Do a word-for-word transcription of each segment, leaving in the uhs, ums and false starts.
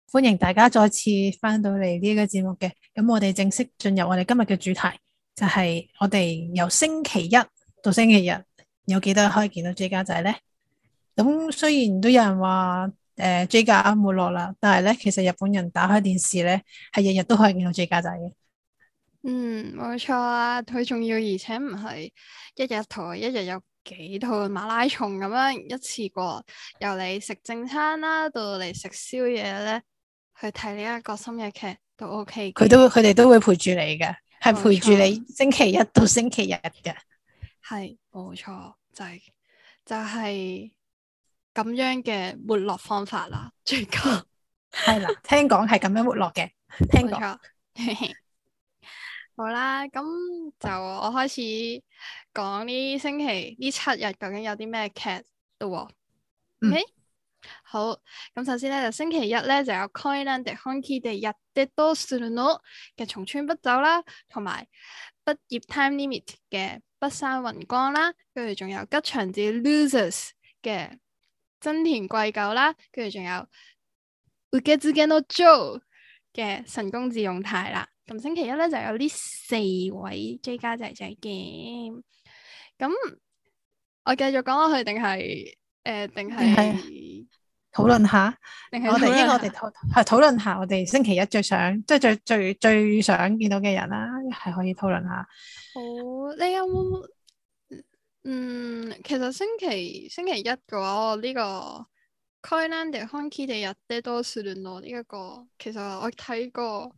歡迎大家再次翻到嚟呢個節目嘅。咁我哋正式進入我哋今日嘅主題，就係、是、我哋由星期一到星期日有幾多可以見到 J 家仔呢？咁雖然都有人話誒、呃、J 家沒落啦，但係咧其實日本人打開電視咧係日日都可以見到 J 家仔嘅。 嗯，冇錯啊，佢仲要而且唔係一日台，一日有幾套馬拉松咁樣一次過，由你食正餐啦，到嚟食宵夜咧，去睇呢一個深夜劇都 OK 嘅。 佢都佢哋都會陪住你嘅，係陪住你冇錯， 星期一到星期日嘅。 係冇錯，就係、就係、咁樣嘅沒落方法啦。最近係啦，聽講係咁樣沒落嘅，聽講。 冇錯。好啦，咁就我開始講呢星期呢七日究竟有啲咩劇咯。 嗯 OK，好，咁首先咧就星期一咧就有《戀で本気でやってどうするの》嘅重村不走啦，同埋畢業 Time Limit 嘅北山雲光啦，跟住仲有吉祥寺 Losers 嘅真田貴久啦，跟住仲有受け継ぎのジョー嘅神宮寺勇太啦。咁星期一咧就有呢四位 J 家仔仔嘅，咁我繼續講落去定係誒定係討論下， 定係我哋應該我哋討論下？ 討係討論下我哋星期一最想即係最最最想見到嘅人啦，係可以討論下。 好，你有冇嗯，其實星期星期一嘅話，我呢、這個《戀で本気でやってどうするの》呢一個，其實我睇過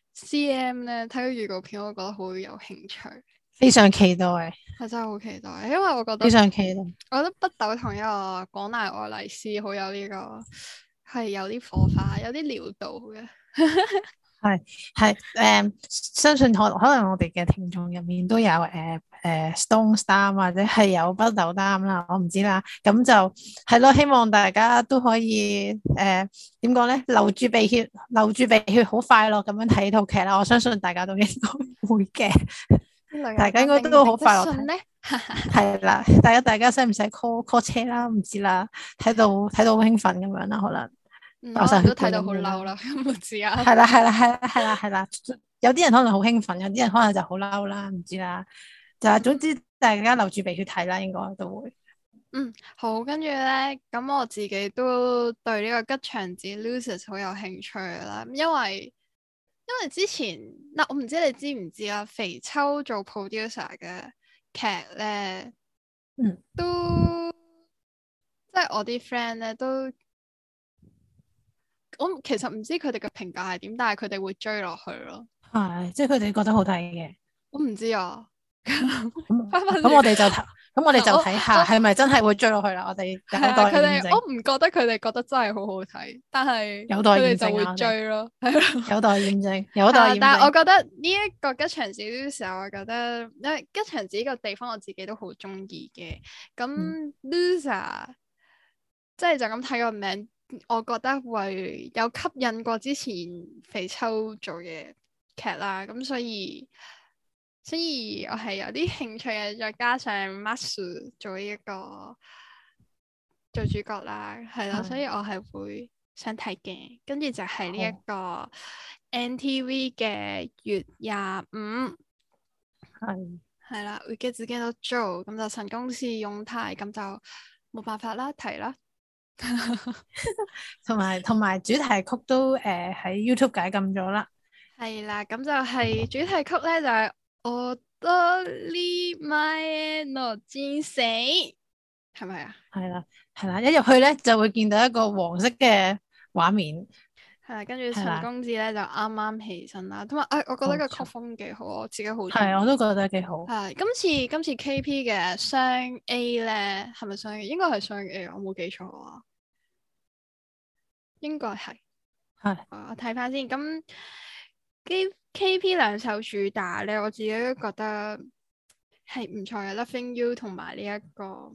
C M 咧，睇個預告片，我覺得好有興趣， 非常期待， 係真係好期待，因為我覺得非常期待。 我覺得北斗同一個廣瀨愛麗絲好有呢、這個係有啲火花，有啲料到嘅。 係係誒，相信可可能我哋嘅聽眾入面都有誒誒、呃呃、Stone Star 或者係有北斗擔啦，我唔知啦。咁就係咯，希望大家都可以誒點講咧，流住鼻血，流住鼻血，好快樂咁樣睇套劇啦。我相信大家都應該會嘅，大家應該都好快樂睇。係啦，大家大家使唔使 call call 車啦？唔知啦，睇到睇到好興奮咁樣啦，可能。 嗯、可能都睇到好嬲啦，唔知啊。 係啦係啦係啦係啦係啦，有啲人可能好興奮，有啲人可能就好嬲啦，唔知啦。就係總之，大家留住鼻血睇啦，應該都會。 嗯，好，跟住咧，咁我自己都對呢個吉祥寺 Losers 好有興趣啦，因為因為之前嗱，我唔知你知唔知啊，肥秋做 producer 嘅劇咧， 嗯， 都即係我啲 friend 咧都。我其實唔知佢哋嘅評價係點，但係佢哋會追落去咯。 係，即係佢哋覺得好睇嘅。 我唔知啊。 咁翻返咁我哋就睇，咁我哋就我睇下係咪真係會追落去啦。我哋有待佢哋， 驗證。 我唔覺得佢哋覺得真係好好睇，但係有待驗證佢哋就會啊！ 追咯，係咯。 有待驗證，有待驗證。 但係我覺得呢一個吉祥寺嘅時候，我覺得因為吉祥寺呢個地方我自己都好中意嘅。咁 Loser 即係就咁睇個名。我覺得會有吸引過之前肥秋做嘅劇啦，咁所以所以我係有啲興趣嘅，再加上 Masu 做呢一個做主角啦，係咯，所以我係會想睇嘅。跟住就係呢一個 N T V 嘅月廿五， 係係啦，會嘅自己都做，咁就神宮寺勇太，咁就冇辦法啦，提啦。 同埋同埋主題曲都誒喺、呃、YouTube 解禁咗啦。 係啦，咁就係主題曲咧，就係我多呢買諾戰死，係咪啊？ 係啦係啦，一入去咧就會見到一個黃色嘅畫面。 係啦，跟住陳公子咧就啱啱起身啦，同埋誒，我覺得個曲風幾好，我自己好中意。 係，我都覺得幾好。 係今次今次 K P 嘅雙 A 咧，係咪雙 A？應該係雙 A，我冇記錯啊。應該係， 係， 我睇翻先。咁 K K P 兩首主打咧，我自己都覺得係唔錯嘅。Loving You 同埋呢一個，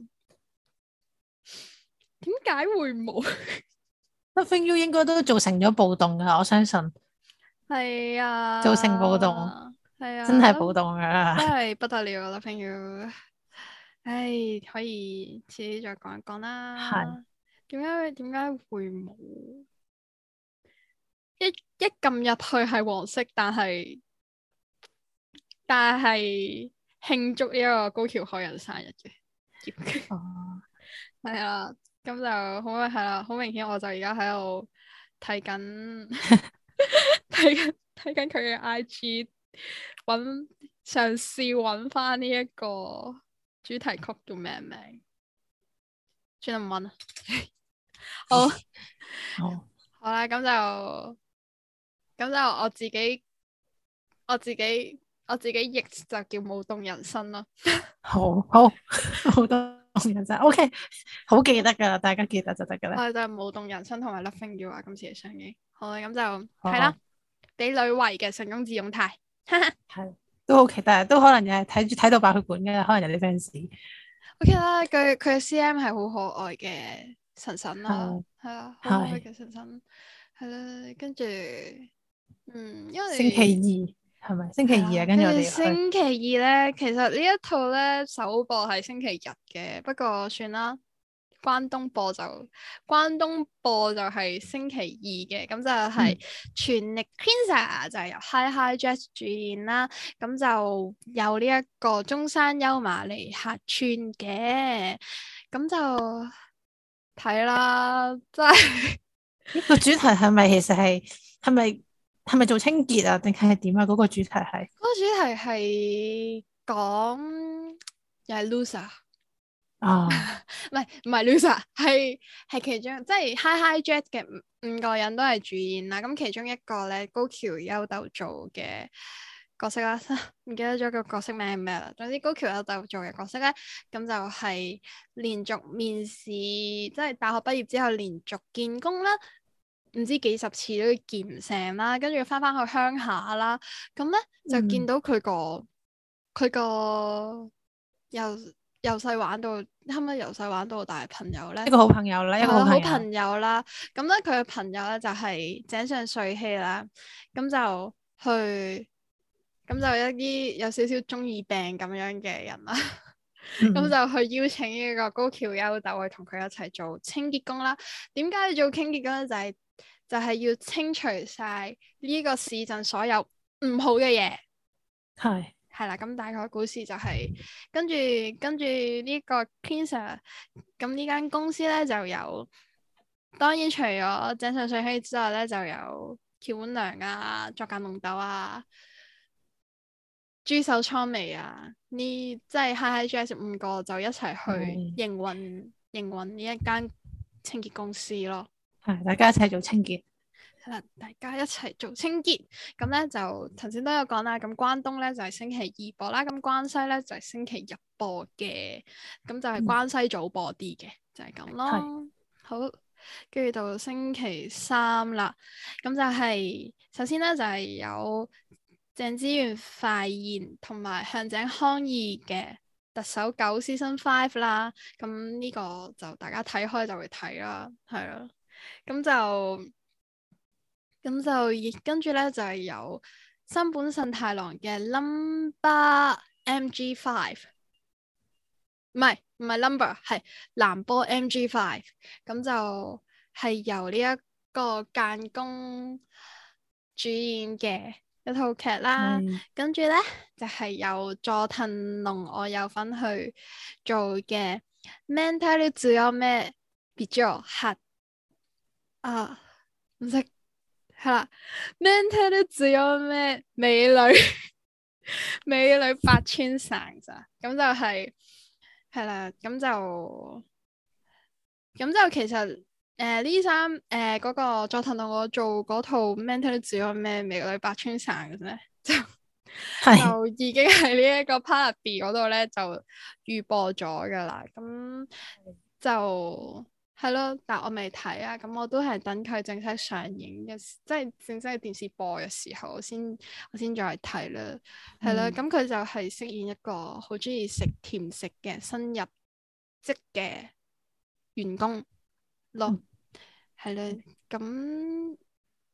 點解會冇 ？Loving You 應該都造成咗暴動噶，我相信。 係啊， 造成暴動， 係啊， 真係暴動噶， 真係不得了。Loving You，唉，可以遲啲再講一講啦。 係。 點解點解會冇？ 一撳入去係黃色，但係但係慶祝呢一個高橋海人生日嘅。 哦， 係啊，咁就好係啦，好明顯我就而家喺度睇緊睇緊睇緊佢嘅 I G，揾嘗試揾翻呢一個主題曲叫咩名？轉唔揾啊？好， 好， 好啦，咁就咁就我自己我自己我自己譯就叫舞動人生咯。 好好好多人生，OK，好記得噶啦，大家記得就得噶啦。 我哋就係舞動人生同埋 Loving You 啊，今次嘅上映。好啦，咁就係好啦，俾女圍嘅成功自用態， 係都好期待，都可能又係睇住睇到爆血管嘅，可能有啲 fans。 O K 啦，佢佢嘅 C M 係好可愛嘅神神啦， 係係啊，好可愛係嘅神神，係啦，跟住嗯，因星期二為係咪？星期二啊， 係啦，跟住跟住我哋要去。 星期二咧，其實呢一套咧首播係星期日嘅，不過算啦。關東播就關東播就係星期二嘅，咁就係全力 Queensa 就係由 HiHiJetz 主演啦，咁就有呢一個中山優馬嚟客串嘅，咁就睇啦，真係呢個主題係咪其實係係咪係咪做清潔啊？定係點啊？嗰個主題係嗰個主題係講又係 loser。 啊， 唔係唔係 loser，係係其中即係 HiHiJetz 嘅五五個人都係主演啦。咁其中一個咧，高橋優斗做嘅角色啦，唔記得咗個角色名係咩啦。總之高橋優斗做嘅角色咧，咁就係連續面試，即係大學畢業之後連續見工啦，唔知幾十次都見唔成啦，跟住翻翻去鄉下啦，咁咧就見到佢個佢個又。由細玩到，啱啱由細玩到大朋友咧， 一個好朋友啦，一個好朋友。 好朋友啦。咁咧佢嘅朋友咧就係井上穗希啦。咁就去，咁就一啲有少少中二病咁樣嘅人啦。咁、嗯、就去邀請呢個高橋優斗去同佢一齊做清潔工啦。點解要做清潔工咧？就係、是、就係、是、要清除晒呢個市鎮所有唔好嘅嘢。 係。 係啦，咁大概故事就係、是、跟住跟住呢個 Queensa，咁呢間公司咧就有，當然除咗井上穗希之外咧，就有橋本良啊、作間龍斗啊、豬手蒼美啊，呢即係 HiHiJetz 五個就一齊去營運營運呢一間清潔公司咯。 係，大家一齊做清潔。 大家一齊做清潔，咁咧就頭先都有講啦。咁關東咧就係、是、星期二播啦，咁關西咧就係、是、星期日播嘅，咁就係關西早播啲嘅，嗯、就係咁咯。是好，跟住到星期三啦，咁就係、是、首先咧就係、是、有鄭資源、快賢同埋向井康二嘅特首九 Season Five 啦，咁呢個就大家睇開就會睇啦，係啦，咁就。咁就跟住咧就係、是、有新本慎太郎嘅 Number M G Five， 唔係唔係 Number 係藍波 M G Five， 咁就係由呢一個間宮主演嘅一套劇啦。是跟住咧就係、是、由佐藤龍我有份去做嘅 Mental 仲有咩別咗黑啊唔識。係啦，Mental 都只有咩美女美女八千散咋，咁就係係啦，咁就咁就其實誒呢三誒嗰個佐藤同我做嗰套 Mental 都只有咩美女八千散嘅啫，就係就已經喺呢一個 Part B 嗰度咧就預播咗噶啦，咁就。係咯，但我未睇啊，咁我都係等佢正式上映嘅，即係正式喺電視播嘅時候，我先我先再睇啦。係啦、嗯，咁佢就係飾演一個好中意食甜食嘅新入職嘅員工咯。係啦、嗯，咁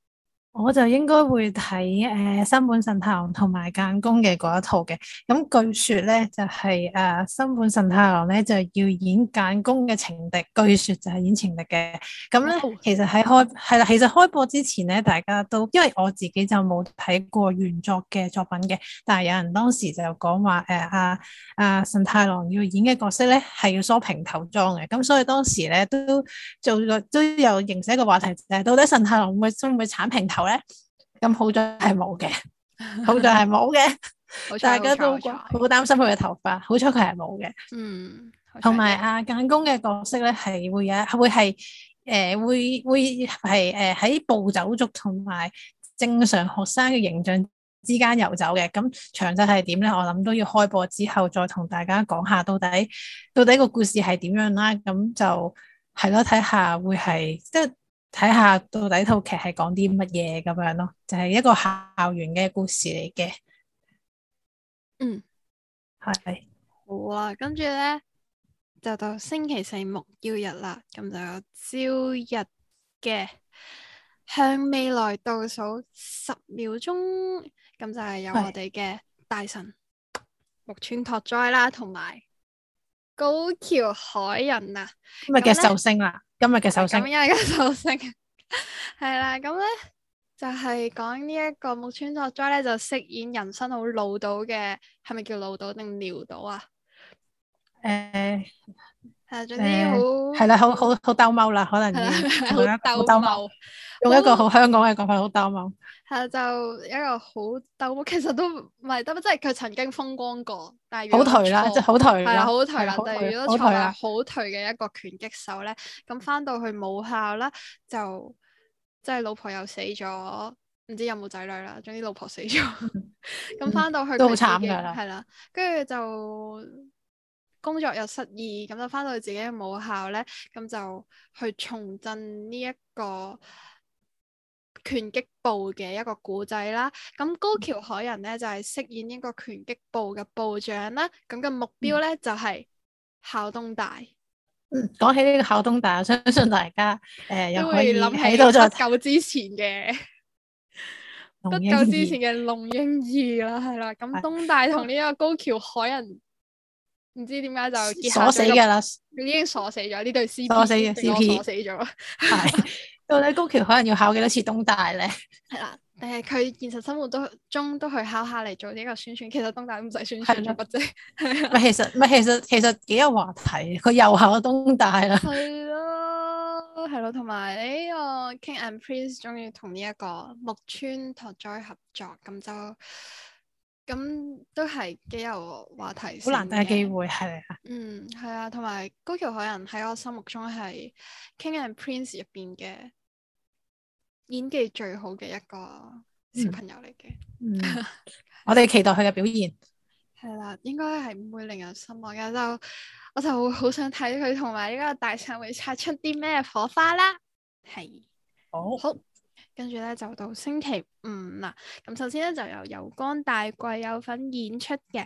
我就應該會睇誒新本慎太郎同埋間宮嘅嗰一套嘅。咁據說咧就係、是、誒、呃、新本慎太郎咧就要演間宮嘅情敵，據說就係演情敵嘅。咁咧、oh. 其實喺開係啦，其實開播之前咧，大家都因為我自己就冇睇過原作嘅作品嘅，但係有人當時就講話誒阿阿慎太郎要演嘅角色咧係要梳平頭裝嘅。咁所以當時咧都做咗都有形成一個話題，就係到底慎太郎會會唔會鏟平頭咧？咁好在係冇嘅，好在係冇嘅，大家都好擔心佢嘅頭髮，好彩佢係冇嘅。 嗯， 同埋阿間宮嘅角色咧，係會有會係誒、呃、會會係誒喺暴走族同埋正常學生嘅形象之間遊走嘅。咁詳細係點咧？我諗都要開播之後再同大家講下到底到底個故事係點樣啦。咁就係咯，睇下會係即係。睇下到底套劇係講啲乜嘢咁樣咯，就係、是、一個校園嘅故事嚟嘅。 嗯， 係好啊，跟住咧就到星期四木曜日啦，咁就有朝日嘅向未來倒數十秒鐘，咁就係有我哋嘅大神木村拓哉啦，同埋高橋海人啊， 今日嘅壽星啦。今日嘅壽星， 今日嘅壽星係啦，咁咧就係講呢一個木村拓哉咧，就飾演人生好潦倒嘅，係咪叫潦倒定潦倒啊？ 誒、呃， 係總之好係啦，好好好兜踎啦，可能要好兜踎， 用一個好香港嘅講法，好兜踎。 係就一個好兜踎，其實都唔係兜踎，即係佢曾經風光過，但係好頹啦，即係好頹啦， 係好頹啦。但係如果錯係好頹嘅一個拳擊手咧，咁翻到去母校啦，就即係老婆又死咗，唔知有冇仔女啦。總之老婆死咗，咁翻到去都好慘噶啦， 係啦，跟住就工作又失意，咁就翻到去自己嘅母校咧，咁就去重振呢一個拳擊部嘅一個古仔啦，咁高橋海人咧就係、是、飾演呢個拳擊部嘅部長啦，咁嘅目標咧、嗯、就係、是、考東大。 嗯，講起呢個考東大，我相信大家誒、呃、又可以諗喺度再不久之前嘅不久之前嘅龍櫻二啦，係啦，咁東大同呢個高橋海人唔知點解就結鎖死噶啦， 已經鎖死咗呢對 C P， 鎖死嘅 C P， 鎖死咗， 係。到底高橋可能要考幾多次東大咧？係啦，但係佢現實生活都中都去考下嚟做呢個宣傳。其實東大唔使宣傳做乜啫。唔係其實唔係其實其實幾有話題。佢又考東大啦。 係咯，係咯，同埋呢個 King and Prince 終於同呢一個木村拓哉合作，咁就咁都係幾有話題。好難得嘅機會係啊。嗯，係啊，同埋高橋海人喺我心目中係 King and Prince 入邊嘅演技最好嘅一個小朋友嚟嘅。嗯，嗯我哋期待佢嘅表現。係啦，應該係唔會令人失望嘅。就我就好想睇佢同埋呢個大神會擦出啲咩火花啦。係，好，好，跟住咧就到星期五啦。咁首先咧就由油光大貴有份演出嘅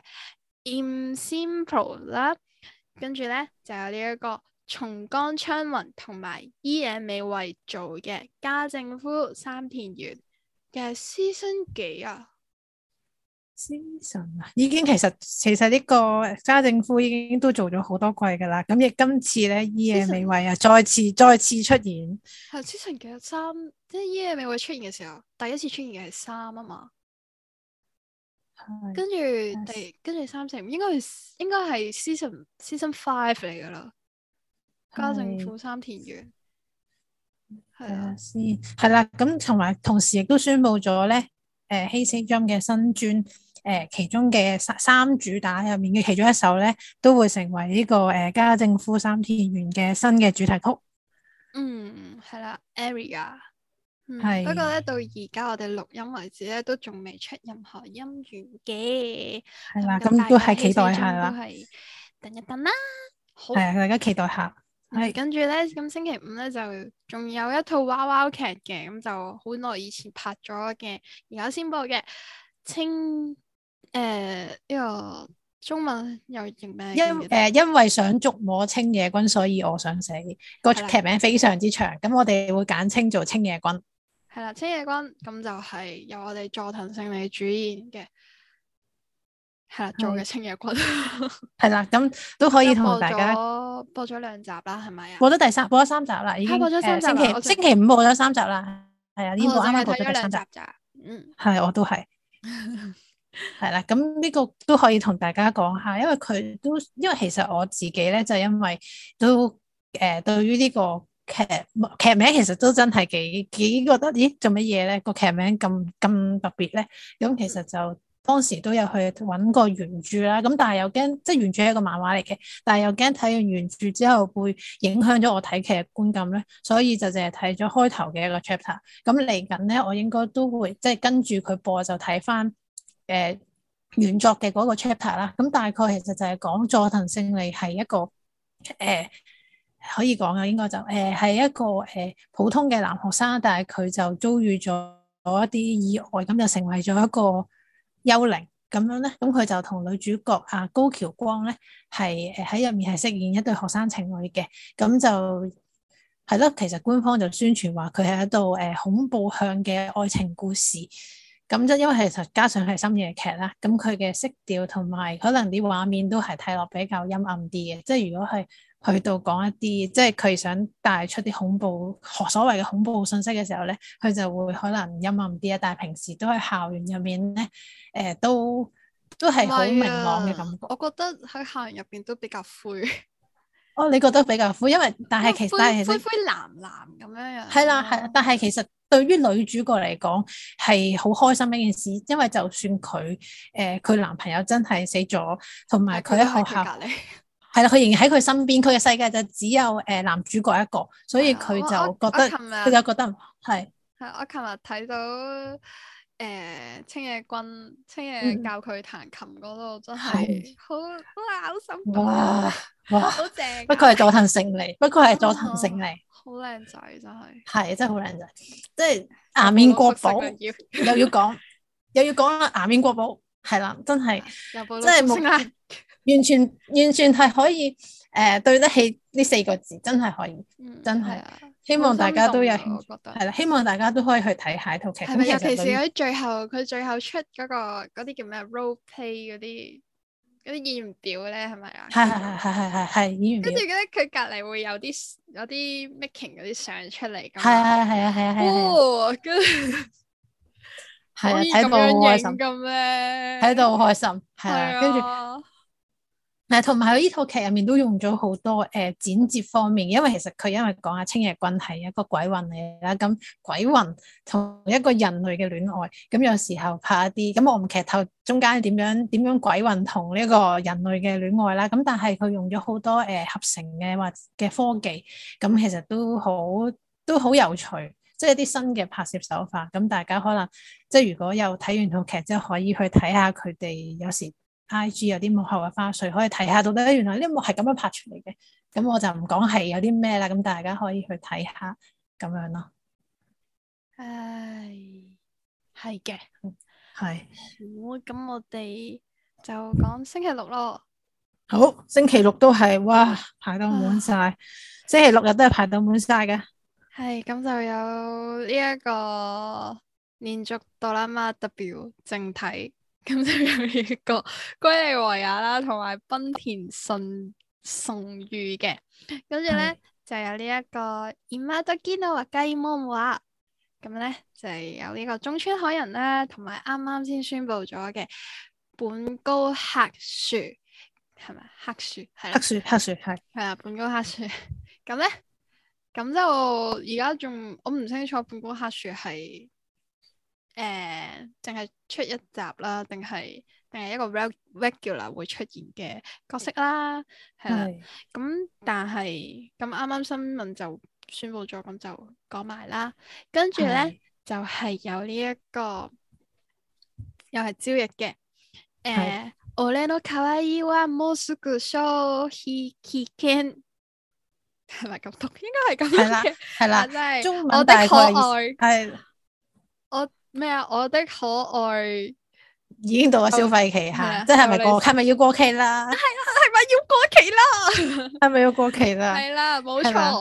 In Simple 啦，跟住咧就有呢一個松岡昌宏同埋伊野尾惠做嘅家政夫三田園嘅 season 幾啊 season 啊，已經其實其實呢個家政夫已經都做咗好多季噶啦，咁亦今次咧伊野尾惠啊再次再次出現。 係 season 幾啊？三，即係伊野尾惠出現嘅時候，第一次出現嘅係三啊嘛。跟住第跟住三四五應該係應該係 season season five 嚟噶啦。家政婦三田園係啊，先係啦，咁同埋同時亦都宣布咗咧，誒Hey Say Jump嘅新專，誒、呃、其中嘅三三主打入面嘅其中一首咧，都會成為呢、這個誒、呃、家政婦三田園嘅新嘅主題曲。 嗯，係啦 Area 係。 不過咧，到而家我哋錄音為止咧，都仲未出任何音源嘅。 係啦，咁都係期待下啦。 都係等一等啦。好， 係啊，大家期待下。係、 嗯，跟住咧，咁星期五咧就仲有一套娃娃劇嘅，咁就好耐以前拍咗嘅，而家先播嘅青誒呢個中文又譯咩？ 因誒、呃、因為想捉摸青野君，所以我想死。個劇名非常之長，咁我哋會簡稱做青野君。 係啦，清野君咁就係由我哋佐藤勝利主演嘅，係啦做嘅清野君， 係啦，咁都可以同大家播咗兩集啦，係咪啊？ 播咗第三，播咗三集啦，已經播咗三集， 星期星期五播咗三集啦，係啊，呢部啱啱播咗第三集咋，嗯， 係我都係。係啦，咁呢個都可以同大家講下，因為佢都因為其實我自己咧就因為都誒、呃、對於呢個劇劇名其實都真係幾幾覺得咦做乜嘢咧個劇名咁咁特別咧，咁其實就當時都有去搵過原著啦，咁但係又驚即係原著係一個漫畫嚟嘅，但係又驚睇完原著之後會影響咗我睇劇嘅觀感咧，所以就淨係睇咗開頭嘅一個 chapter，咁嚟緊咧我應該都會即係跟住佢播就睇翻。誒、呃，原作嘅嗰個 chapter 啦，咁大概其實就係講佐藤勝利係一個誒、呃，可以講嘅應該就誒係、呃、一個誒、呃、普通嘅男學生，但係佢就遭遇咗一啲意外，咁就成為咗一個幽靈咁樣咧。咁佢就同女主角啊高橋光咧係誒喺入面係飾演一對學生情侶嘅，咁就係咯。其實官方就宣傳話佢係一道誒恐怖向嘅愛情故事。咁即因為其實加上係深夜劇啦，咁佢嘅色調同埋可能啲畫面都係睇落比較陰暗啲嘅。即係如果係去到講一啲，即係佢想帶出啲恐怖所謂嘅恐怖信息嘅時候咧，佢就會可能陰暗啲啊。但係平時都喺校園入面咧，誒、呃、都都係好明朗嘅感覺。 我覺得喺校園入邊都比較灰。 哦，你覺得比較灰，因為但係其實但係其實灰灰藍藍咁樣樣。 係啦係啦，但係其實。對於女主角嚟講係好開心嘅一件事，因為就算佢誒佢男朋友真係死咗，同埋佢喺學校係啦，佢仍然喺佢身邊，佢嘅世界就只有誒、呃、男主角一個，所以佢就覺得佢就覺得係係我琴日睇到誒、呃、清野君清野教佢彈琴嗰度、嗯、真係好好嘔心， 哇哇好正， 不過係佐藤勝利，不過係佐藤勝利。 好靚仔真係， 係真係好靚仔，即係顏面國寶，又要講又要講啦，顏面國寶係啦，真係即係冇完全完全係可以誒、呃、對得起呢四個字，真係可以，嗯、真係、啊、希望大家都有興趣，係啦，希望大家都可以去睇下一套劇。 係咪尤其是喺最後佢最後出嗰、嗰個嗰啲叫咩 role play 嗰啲。嗰啲演員表咧係咪啊？係係係係係係演員表。跟住咧，佢隔離會有啲有啲 making 嗰啲相出嚟。係係係啊係啊係啊！哇，跟住係啊，睇到好開心咁咧，睇到好開心係啊，跟住。誒，同埋佢呢套劇入面都用咗好多誒、呃、剪接方面，因為其實佢因為講下清野君係一個鬼魂嚟啦，咁鬼魂同一個人類嘅戀愛，咁有時候拍一啲，咁我唔劇透中間點樣點樣鬼魂同呢個人類嘅戀愛啦，咁但係佢用咗好多誒、呃、合成嘅或嘅科技，咁其實都好都好有趣，即係一啲新嘅拍攝手法，咁大家可能即係如果有睇完套劇之後，可以去睇下佢哋有時。I G 有啲幕後嘅花絮可以睇下，到底原來呢幕係咁樣拍出嚟嘅，咁我就唔講係有啲咩啦，咁大家可以去睇下咁樣咯。唉，係嘅，係。好，咁我哋就講星期六咯。好，星期六都係哇排到滿晒，啊、星期六日都係排到滿晒嘅。係，咁就有呢一個連續哆啦 A 夢 W 正體。咁就有呢個龜梨和也啦，同埋濱田崇崇裕嘅，跟住咧就有呢一個今時の若い者は，咁咧就係有呢個中村海人啦，同埋啱啱先宣布咗嘅本高克樹，係咪克樹？係克樹克樹係係啊，本高克樹。咁咧咁就而家仲我唔清楚本高克樹係。誒，淨係、呃、出一集啦，定係定係一個 regular 會出現嘅角色啦，係啦。咁是但係咁啱啱新聞就宣布咗，咁就講埋啦。跟住咧是就係有呢、這、一個又係朝日嘅。誒，俺の可愛いはもうすぐ消費期限，係咪咁讀？應該係咁樣嘅，係啦，真係中文大概係我。咩啊？我的可愛已經到咗消費期吓，即係咪過？係咪要過期啦？係啊，係咪要過期啦？係咪要過期啦？係啦，冇錯。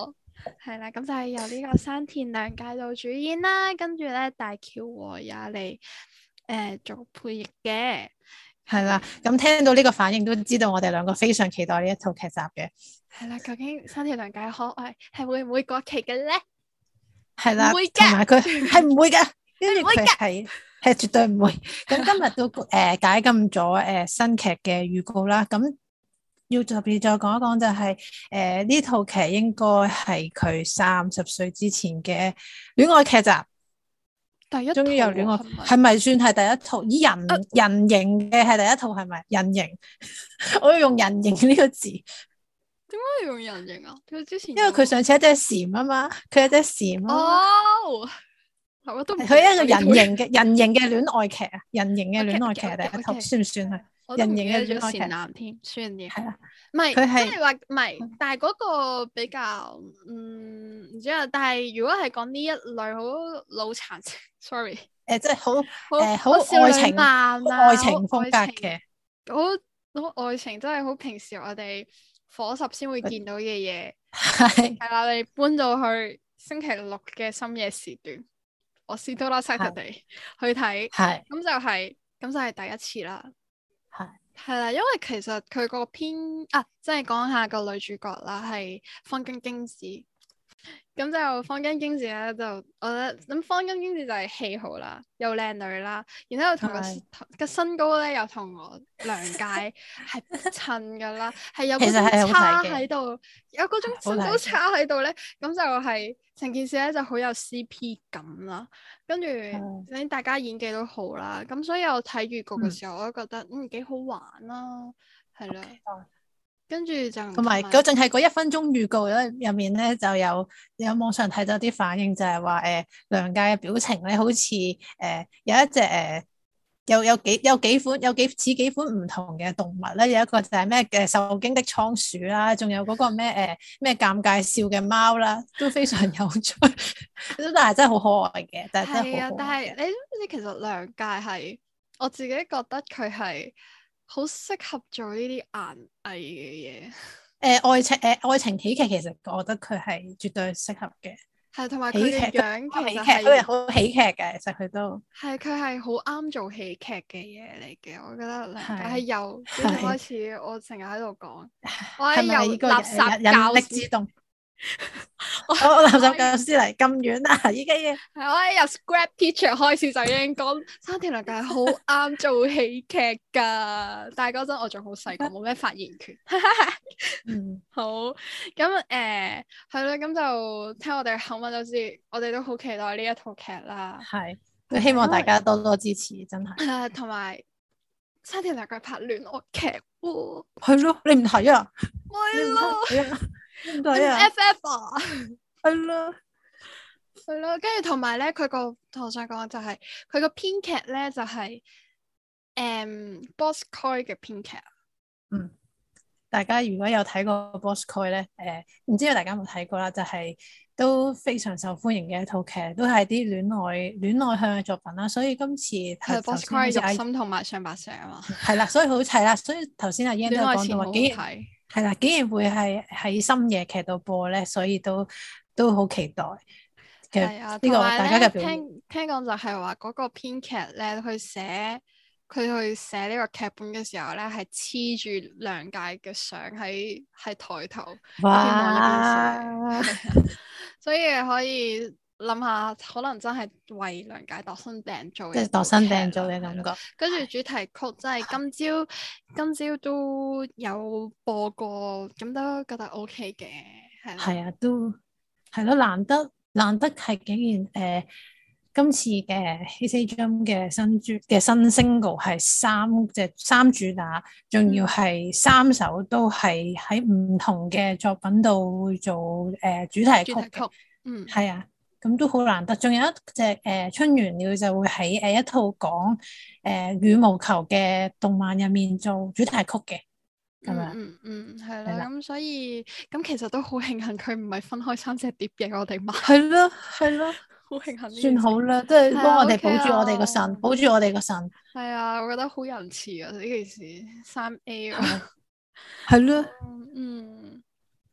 係啦，咁就係由呢個山田涼介做主演啦，跟住咧大橋和也嚟誒做配役嘅。 係啦，咁聽到呢個反應都知道我哋兩個非常期待呢一套劇集嘅。 係啦，究竟山田涼介可愛係會唔會過期嘅咧？ 係啦， 唔會嘅， 同埋佢係唔會嘅，跟住唔會佢係係絕對唔會。咁今日都誒、呃、解禁咗誒、呃、新劇嘅預告啦。咁要特別再講一講就係誒呢套劇應該係佢三十歲之前嘅戀愛劇集。 第一套終於有戀愛， 係咪係咪算係第一套？以人、啊、人形嘅係第一套係咪？人形，我要用人形呢個字。 點解要用人形啊？佢之前因為佢上次一隻蟬啊嘛，佢一隻蟬啊。 哦，係我都佢一個人形嘅人形嘅戀愛劇啊，人形嘅戀愛劇第一套，算唔算係？人形嘅戀愛劇。善男添，算嘅。 係啊， 唔係， 佢係即係話唔係，但係嗰個比較，嗯，唔知啊。但係如果係講呢一類好腦殘，sorry， 誒，即係好誒好好愛情啊， 愛情風格嘅， 好好愛情，真係好平時我哋伙十先會見到嘅嘢。 係係啦，你搬到去星期六嘅深夜時段，我試到啦 Saturday 去睇，係咁就係咁就係第一次啦。係係啦，因為其實佢個編啊，即係講下個女主角啦，係芳根京子。咁就芳根京子咧，就我覺得咁芳根京子就係戲好啦，又靚女啦，然之後同個個身高咧又同我涼介係襯噶啦，係有嗰種差喺度，有嗰種身高差喺度咧，咁就係成件事咧就好有 C P 感啦。跟住你大家演技都好啦，咁所以我睇預告嘅時候，嗯、我都覺得嗯幾好玩啦，係啦。Okay. 跟住就同埋嗰陣係嗰一分鐘預告咧入面咧就有有網上睇到啲反應，就係話誒涼介嘅表情咧好似誒、呃、有一隻誒、呃、有有幾有幾款有幾似幾款唔同嘅動物咧，有一個就係咩嘅受驚的倉鼠啦，仲有嗰個咩誒咩尷尬笑嘅貓啦，都非常有趣，但係真係好可愛嘅，但係真係好可愛。係啊， 但係你知唔知其實涼介係我自己覺得佢係好適合做呢啲顏藝嘅嘢。誒、 呃，愛情誒、呃，愛情喜劇其實我覺得佢係絕對適合嘅。係，同埋佢嘅樣其實係佢係好喜劇嘅，其實佢都係佢係好啱做喜劇嘅嘢嚟嘅。我覺得涼介係由幾時開始，我成日喺度講，我係由垃圾教師之動。我我垃圾教師嚟咁遠啊！已經係我喺由 Scrap Teacher 開始就已經講山田涼介係好啱做喜劇噶，但係嗰陣我仲好細個，冇咩發言權。嗯，好，咁誒係咯，咁就聽我哋口吻就知，我哋都好期待呢一套劇啦。係，都希望大家多多支持，真係。誒，同埋山田涼介拍戀愛劇喎，係咯，你唔睇啊？係咯。F F 啊，係咯，係咯，跟住同埋咧，佢個我想講就係佢個編劇咧就係、是、誒 Boss Koi 嘅編劇。嗯，大家如果有睇過 Boss Koi 咧，誒、呃，唔知道大家有冇睇過啦，就係、是、都非常受歡迎嘅一套劇，都係啲戀愛戀愛向嘅作品啦。所以今次係 Boss Koi 入心同埋上白石啊嘛，係啦，所以好齊啦。所以頭先阿 Yan 都講到話幾。係啦，竟然會係喺深夜劇度播咧，所以都都好期待。係啊，呢個大家嘅表現。聽聽講就係話嗰個編劇咧，佢寫佢去寫呢個劇本嘅時候咧，係黐住涼介嘅相喺喺台頭，哇！希望呢件事，所以可以諗下，可能真係為涼介度身訂做，即係度身訂做嘅感覺。跟住主題曲真係今朝今朝都有播過，咁都覺得 O K 嘅，係啦。係啊，都係咯，難得難得係竟然誒、呃，今次嘅 HeySayJump 嘅新專嘅新 single 係三隻三主打，仲要係三首都係喺唔同嘅作品度會做誒、呃、主題曲。主題曲，嗯，係啊。咁都好難得，仲有一隻誒、呃、春原料就會喺誒、呃、一套講誒、呃、羽毛球嘅動漫入面做主題曲嘅，咁樣嗯嗯係啦，咁所以咁其實都好慶幸佢唔係分開三隻碟嘅，我哋買係咯係咯，好慶幸算好啦，即係幫我哋保住我哋個腎，保住我哋個腎。係啊，我覺得好仁慈啊呢件事，三 A 啊，係咯，嗯。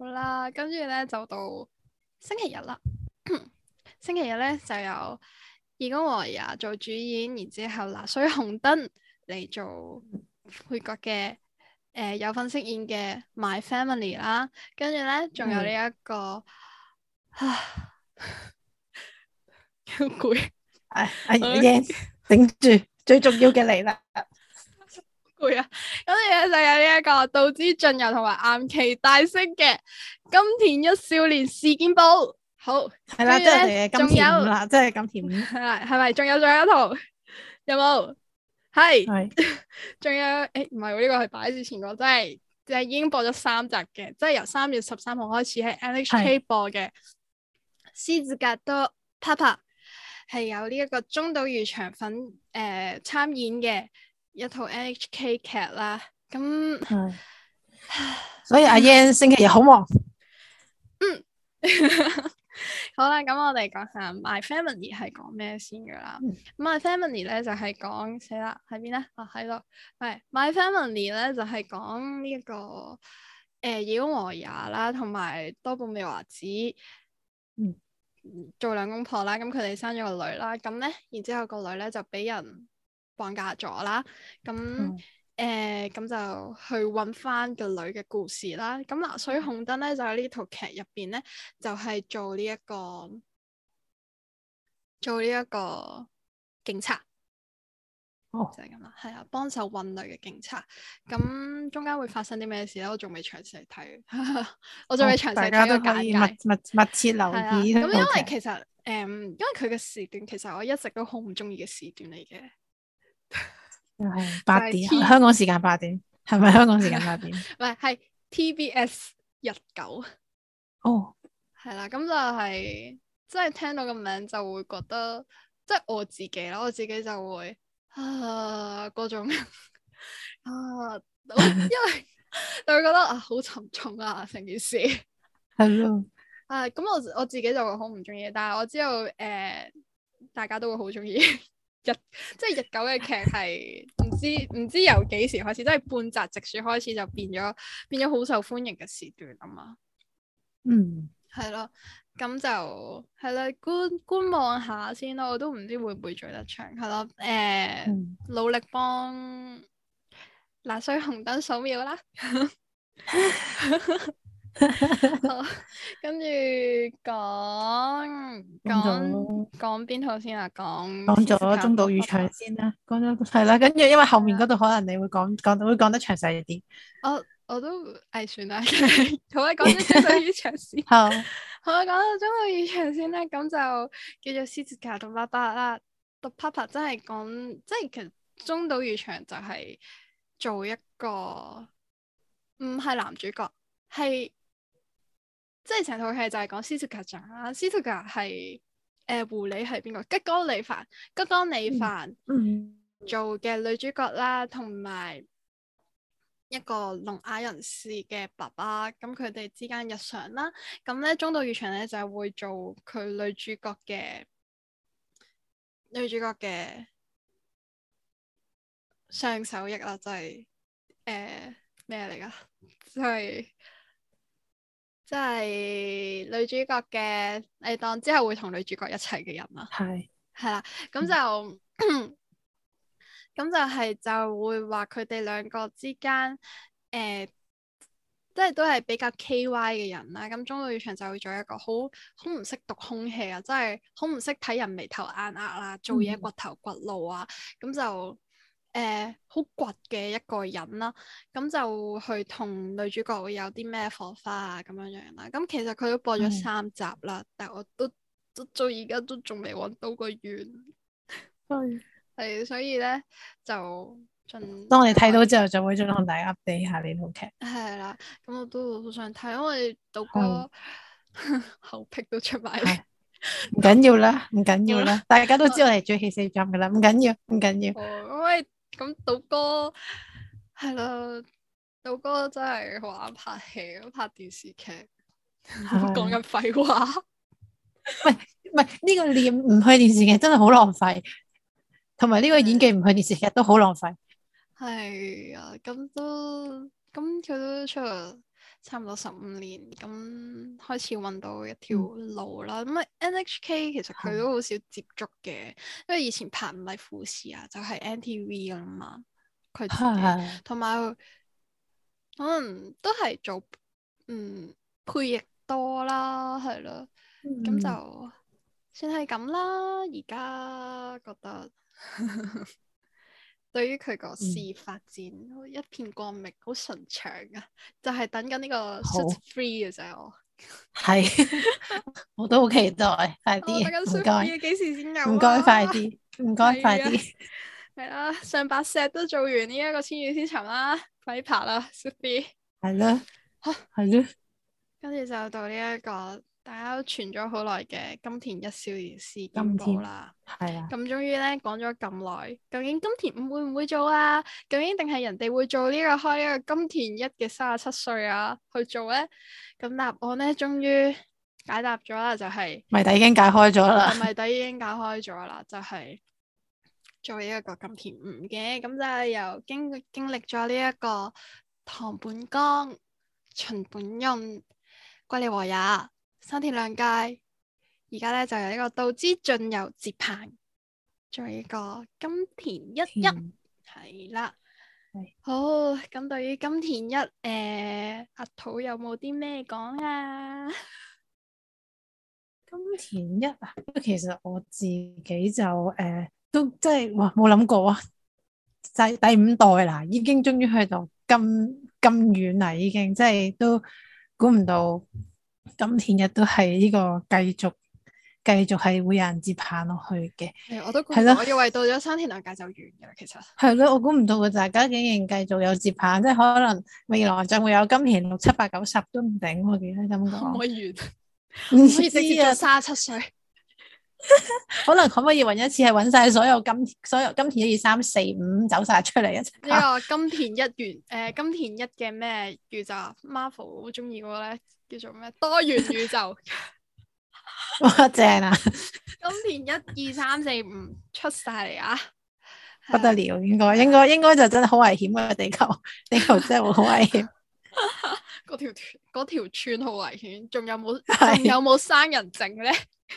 好啦，跟住咧就到星期日啦。星期日咧就有義工和也做主演，然之後拿水紅燈嚟做配角嘅，誒、呃、有份飾演嘅 My Family 啦。跟住咧仲有呢、這、一個，唉，好攰。 哎哎，yes，頂住，最重要嘅嚟啦。 攰啊！跟住咧就有呢一個道枝駿佑同埋岩崎大昇嘅金田一少年事件簿。好， 係啦，即係我哋嘅金田五啦，即係金田五。 係啦，係咪？仲有仲有一套有冇？係， 係， 仲有誒，唔係喎，呢個係擺之前個，即係即係已經播咗三集嘅，即係由三月十三號開始喺 N H K 播嘅《獅子格多 Papa》，係有呢一個中島裕翔份誒參演嘅一套 N H K 劇啦。咁， 所以阿 Yan 星期日好忙。 嗯。好啦，咁我哋講下 My Family 係講咩先噶啦。嗯、My Family 咧就係講死啦，喺邊咧？啊喺度，係 My Family 咧就係講呢一個誒義工和也啦，同埋多部未華子，嗯，做兩公婆啦。咁佢哋生咗個女啦，咁咧，然之後個女咧就俾人綁架咗啦，咁。嗯誒咁、呃、就去揾翻個女嘅故事啦。咁拿水紅燈咧就喺呢套劇入邊咧，就係、是、做呢、這、一個做呢一個警察。哦，就係咁啦，係啊，幫手揾女嘅警察。咁中間會發生啲咩事咧？我仲未詳細睇，我仲未詳細睇個簡介。 密密密切留意。 咁因為其實誒、嗯，因為佢嘅時段其實我一直都好唔中意嘅時段嚟嘅。 係八點，香港時間八點，係咪香港時間八點？ 唔係，係 T B S 日九。哦，係啦，咁就係即係聽到個名就會覺得，即係我自己啦，我自己就會啊嗰種啊，因為就會覺得啊好沉重啊成件事。係咯。啊，咁我我自己就會好唔中意，但係我知道誒、呃，大家都會好中意。日即係日九嘅劇係唔知唔知由幾時開始，即係半澤直樹開始就變咗變咗好受歡迎嘅時段啊嘛。嗯，係咯，咁就係啦，觀觀望下先咯，我都唔知會唔會追得長，係咯，誒、呃，嗯、努力幫拿水紅燈掃描啦。好，跟住講講講邊套先啊？講講咗中島裕翔先啦，講咗係啦，跟住因為後面嗰度可能你會講講會講得詳細啲。 我我都誒算啦，好啊，講咗中島裕翔先。好，好啊，講到中島裕翔先咧，咁就叫做獅子格同爸爸啦。讀 Papa 真係講，即係其實中島裕翔就係做一個唔係男主角，係。即係成套戲就係講獅子格長啦，獅子格係誒狐狸係邊個？吉岡里帆，吉岡里帆做嘅女主角啦，同埋一個聾啞人士嘅爸爸，咁佢哋之間日常啦，咁咧中島裕翔咧就係會做佢女主角嘅女主角嘅上手役啦，就係誒咩嚟噶？就係。即係女主角嘅，你當之後會同女主角一齊嘅人啦。係係啦，咁就咁、嗯、就係就會話佢哋兩個之間，誒、呃，即係都係比較 K Y 嘅人啦。咁中島裕翔就會做一個好好唔識讀空氣啊，即係好唔識睇人眉頭眼額啦，做嘢掘頭掘路啊，咁、嗯、就。誒，好倔嘅一個人啦，咁就去同女主角會有啲咩火花啊，咁樣樣啦。咁其實佢都播咗三集啦，嗯、但係我都都到而家都仲未搵到個完。係係，所以咧就盡當你睇到之後，就會再同大家 update 下呢套劇。係啦，咁我都好想睇，因為島哥後癖都出埋嚟。唔緊要啦，唔緊要啦，大家都知道我哋追戲四集噶啦，唔緊要，唔緊要。因為咁島哥係咯，島哥真係好啱拍戲，拍電視劇，講緊廢話。唔係唔係，呢個念唔去電視劇真係好浪費，同埋呢個演技唔去電視劇都好浪費。係啊，咁都咁佢都出差唔多十五年，咁開始揾到一條路啦。咁啊、嗯、N H K 其實佢都好少接觸嘅，因為以前拍唔係富士啊，就係、是、N T V 噶啦嘛。佢自己同埋可能都係做嗯配譯多啦，係咯，咁、嗯、就算係咁啦。而家覺得對於佢個事業發展、嗯、一片光明，好順暢啊！就係、是、等緊呢個 Suits Free 嘅啫，我係我都好期待，快啲我等緊 Suits Free 幾時先有啊？ 唔該，快啲，唔該，快啲。 係啦，上白石都做完呢一個千與千尋啦，快啲拍啦 Suits Free。 係啦， 吓係咯， 跟住就到呢、這、一個大家都傳咗好耐嘅金田一少年事件簿啦。係啊，咁終於咧講咗咁耐，究竟金田五會唔會做啊？究竟定係人哋會做呢、這個開呢個金田一嘅三十七歲啊去做咧？咁答案咧終於解答咗啦，就係、是、 謎底已經解開咗啦。 謎底已經解開咗啦，就係、是。做呢一個金田五嘅，咁就係由經經歷咗呢一個堂本剛、秦本潤、龜梨和也、山田涼介，而家咧就由呢個道之進由接棒做呢個金田一一係啦。好，咁對於金田一，誒、呃、阿土有冇啲咩講啊？ 金田一啊，其實我自己就誒。呃都真係哇，冇諗過啊！就係第五代啦，已經終於去到咁咁遠啦，已經即係都估唔到金田一都係呢個繼續繼續係會有人接棒落去嘅。 係，我都估唔到，我以為到咗山田涼介就完嘅啦，其實係咯，我估唔到佢大家竟然繼續有接棒，即係可能未來就會有金田六七八九十都唔定，我記得咁講。 可唔可以完？唔可以直接做三十七歲？ 可能可唔可以揾一次係揾晒所有金所有金田一二三四五走晒出嚟一齊？ 呢個金田一元誒、呃，金田一嘅咩宇宙 ？Marvel 好中意嗰個咧，叫做咩多元宇宙？ 哇，正啊！ 金田一二三四五出晒嚟啊！ 不得了，應該應該應該就真係好危險啊！地球地球真係會好危險。 嗰條嗰條村好危險，仲有冇仲有冇生人證咧？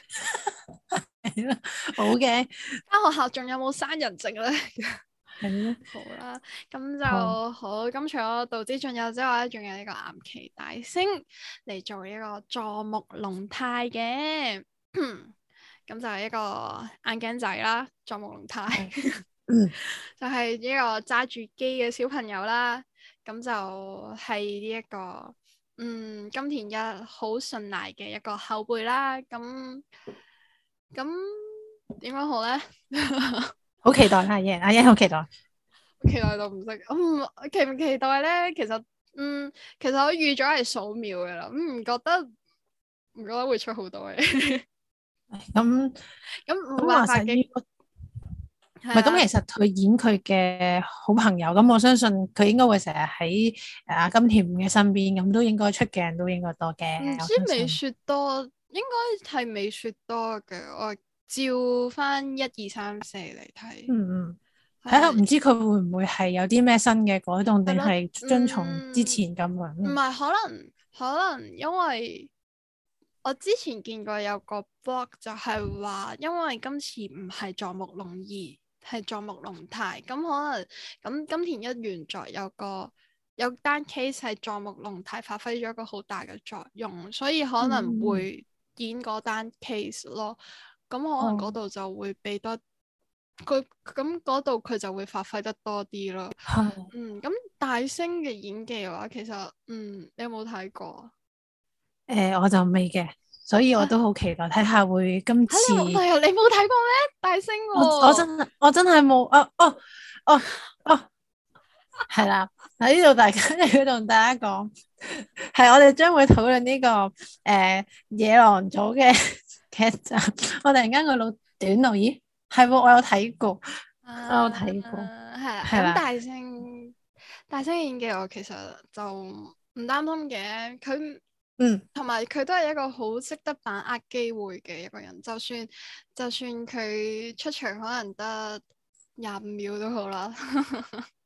好嘅，間學校仲有冇生人證咧？ 係咯， 好啦，咁就好。好，咁除咗道之進有之外咧，仲有呢個岩崎大星嚟做一個佐木龍太嘅，咁就係一個眼鏡仔啦。佐木龍太，嗯，就係呢個揸住機嘅小朋友啦。咁就係呢一個，嗯，金田一好信賴嘅一個後輩啦。咁咁點講好咧？好期待阿爺，阿爺好期待， 期待到唔識。嗯，期唔期待咧？其實，嗯，其實我預咗係數秒嘅啦。咁唔覺得，唔覺得會出好多嘅。 咁咁冇辦法嘅。 唔係咁，其實佢演佢嘅好朋友，咁我相信佢應該會成日喺誒阿金田五嘅身邊，咁都應該出鏡人都應該多嘅。 唔知美雪多，應該係美雪多嘅。我照翻一二三四嚟睇， 嗯嗯，睇下唔知佢會唔會係有啲咩新嘅改動，定係遵從之前咁樣？ 唔係、嗯，可能可能因為我之前見過有個 blog 就係話，因為今次唔係佐木龍二。係佐木龍太，咁可能咁金田一原作有個有單 case 係佐木龍太發揮咗一個好大嘅作用，所以可能會演嗰單 case 咯。咁、嗯、可能嗰度就會俾多佢，咁嗰度佢就會發揮得多啲咯。 嗯， 嗯，咁大星嘅演技嘅話，其實嗯，你有冇睇過？ 誒、呃，我就未嘅。所以我都好期待睇下會今次。 你冇睇過咩？大星喎、哦！ 我我真我真係冇啊！哦哦哦，係啦，喺呢度大家要同大家講，係我哋將會討論呢、這個誒、呃、野狼組嘅劇集。我突然間個腦短路，咦？係喎，我有睇過，啊、我有睇過。 係係啦。咁大星大星演技我其實就唔擔心嘅，佢。嗯，同埋佢都係一個好識得把握機會嘅一個人，就算就算佢出場可能得廿五秒都好啦，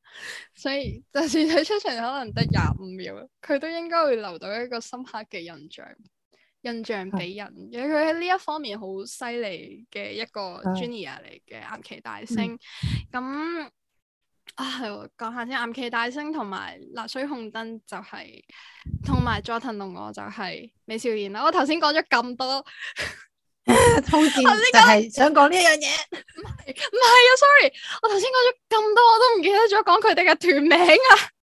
所以就算佢出場可能得廿五秒，佢都應該會留到一個深刻嘅印象，印象俾人。因為佢喺呢一方面好犀利嘅一個 Junior 嚟嘅岩崎大星。咁、嗯、啊，講下先，岩崎大星同埋辣水紅燈就係、是，同埋佐藤龍我就係美少年啦。我頭先講咗咁多。 通戰就係想講呢一樣嘢， 唔係唔係啊 ，sorry，我頭先講咗咁多，我都唔記得咗講佢哋嘅團名啊。